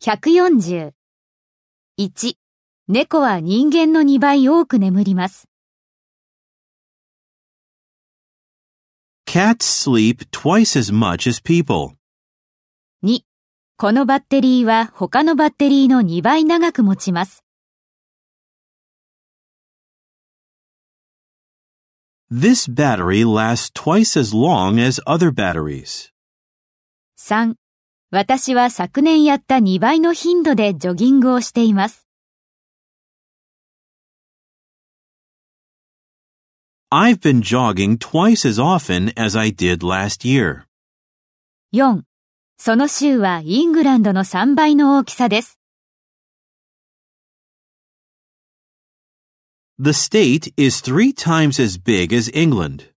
140。1、猫は人間の2倍多く眠ります。 Cats sleep twice as much as people. 2、このバッテリーは他のバッテリーの2倍長く持ちます。 This battery lasts twice as long as other batteries. 3、私は昨年やった2倍の頻度でジョギングをしています。 I've been jogging twice as often as I did last year. 4、その州はイングランドの3倍の大きさです。 The state is 3 times as big as England.